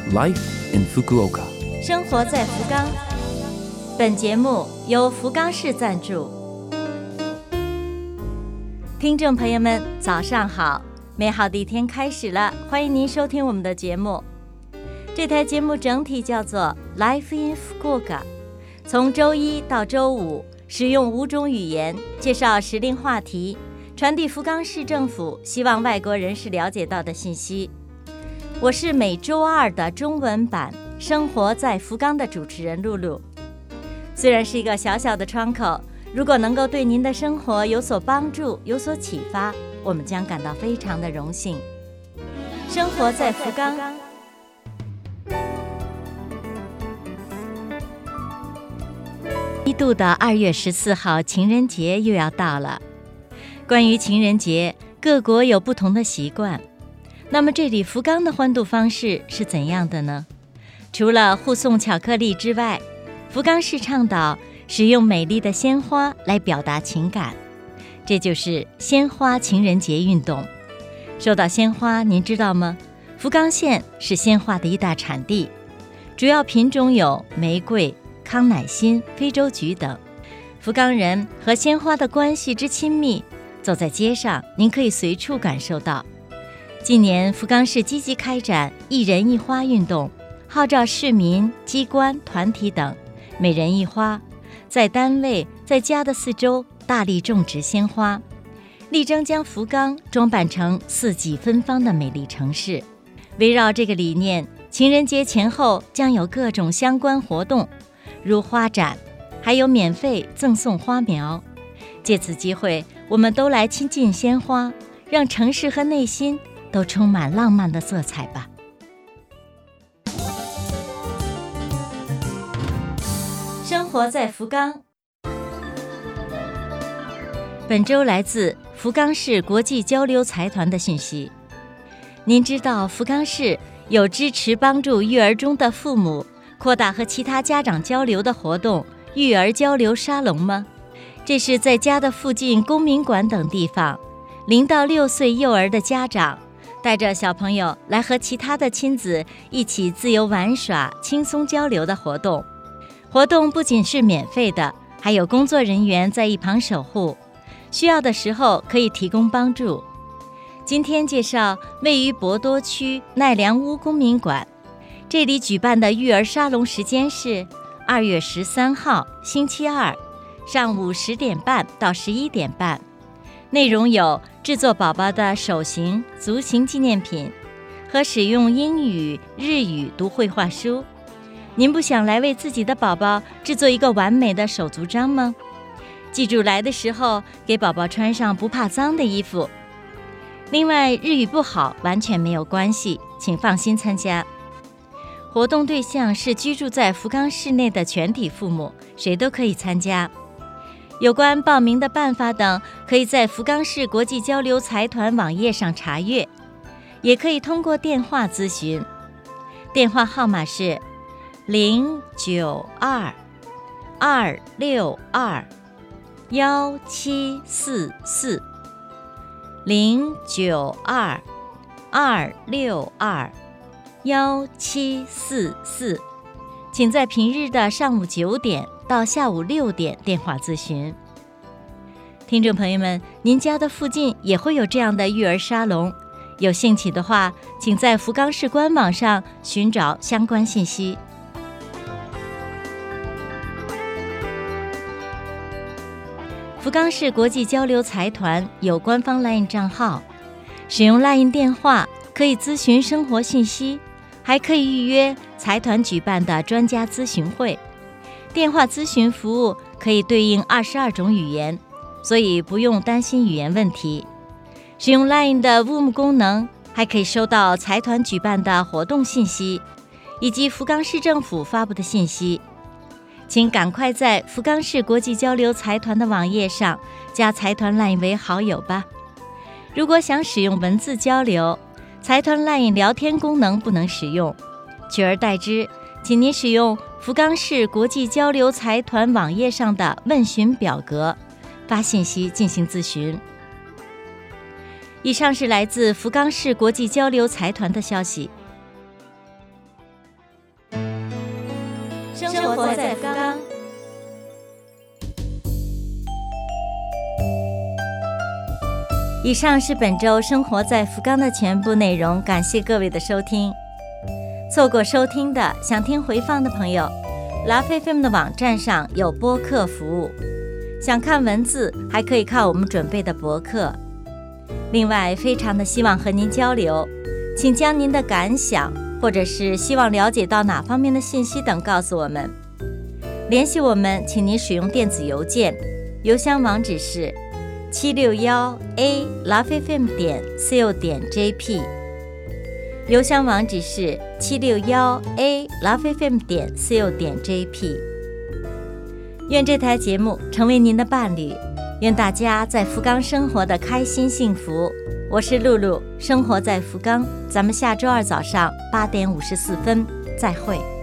Life in Fukuoka， 生活在福冈。本节目由福冈市赞助。听众朋友们，早上好！美好的一天开始了，欢迎您收听我们的节目。这台节目整体叫做 Life in Fukuoka， 从周一到周五，使用5种语言介绍时令话题，传递福冈市政府希望外国人士了解到的信息。我是每周二的中文版《生活在福冈》的主持人露露。虽然是一个小小的窗口，如果能够对您的生活有所帮助、有所启发，我们将感到非常的荣幸。生活在福冈。一度的2月14号情人节又要到了。关于情人节，各国有不同的习惯。那么这里福冈的欢度方式是怎样的呢？除了互送巧克力之外，福冈市倡导使用美丽的鲜花来表达情感，这就是鲜花情人节运动。说到鲜花，您知道吗？福冈县是鲜花的一大产地，主要品种有玫瑰、康乃馨、非洲菊等。福冈人和鲜花的关系之亲密，走在街上您可以随处感受到。近年福冈市积极开展一人一花运动，号召市民、机关、团体等每人一花，在单位、在家的四周大力种植鲜花，力争将福冈装扮成四季芬芳的美丽城市。围绕这个理念，情人节前后将有各种相关活动，如花展，还有免费赠送花苗。借此机会，我们都来亲近鲜花，让城市和内心都充满浪漫的色彩吧。生活在福冈。本周来自福冈市国际交流财团的讯息。您知道福冈市有支持帮助育儿中的父母扩大和其他家长交流的活动育儿交流沙龙吗？这是在家的附近公民馆等地方，0到6岁幼儿的家长带着小朋友来和其他的亲子一起自由玩耍、轻松交流的活动。活动不仅是免费的，还有工作人员在一旁守护，需要的时候可以提供帮助。今天介绍位于博多区奈良屋公民馆，这里举办的育儿沙龙时间是2月13号星期二上午10点半到11点半。内容有制作宝宝的手型、足型纪念品和使用英语、日语读绘画书。您不想来为自己的宝宝制作一个完美的手足章吗？记住来的时候给宝宝穿上不怕脏的衣服。另外，日语不好完全没有关系，请放心参加。活动对象是居住在福冈市内的全体父母，谁都可以参加。有关报名的办法等，可以在福冈市国际交流财团网页上查阅，也可以通过电话咨询。电话号码是092-262-1744 092-262-1744，请在平日的上午9点到下午6点电话咨询。听众朋友们，您家的附近也会有这样的育儿沙龙，有兴趣的话，请在福冈市官网上寻找相关信息。福冈市国际交流财团有官方 LINE 账号，使用 LINE 电话可以咨询生活信息，还可以预约财团举办的专家咨询会。电话咨询服务可以对应22种语言，所以不用担心语言问题。使用 LINE 的 Zoom 功能，还可以收到财团举办的活动信息，以及福冈市政府发布的信息。请赶快在福冈市国际交流财团的网页上加财团 LINE 为好友吧。如果想使用文字交流，财团 LINE 聊天功能不能使用，取而代之，请您使用福冈市国际交流财团网页上的问询表格发信息进行咨询。以上是来自福冈市国际交流财团的消息。 生活在福冈。以上是本周生活在福冈的全部内容，感谢各位的收听。错过收听的，想听回放的朋友，LoveFM 的网站上有播客服务，想看文字还可以看我们准备的博客。另外，非常的希望和您交流，请将您的感想或者是希望了解到哪方面的信息等告诉我们。联系我们，请您使用电子邮件，邮箱网址是761a@lovefm.co.jp， 邮箱网址是761a@lovefm.co.jp。 愿这台节目成为您的伴侣，愿大家在福冈生活的开心幸福。我是露露，生活在福冈，咱们下周二早上8点54分再会。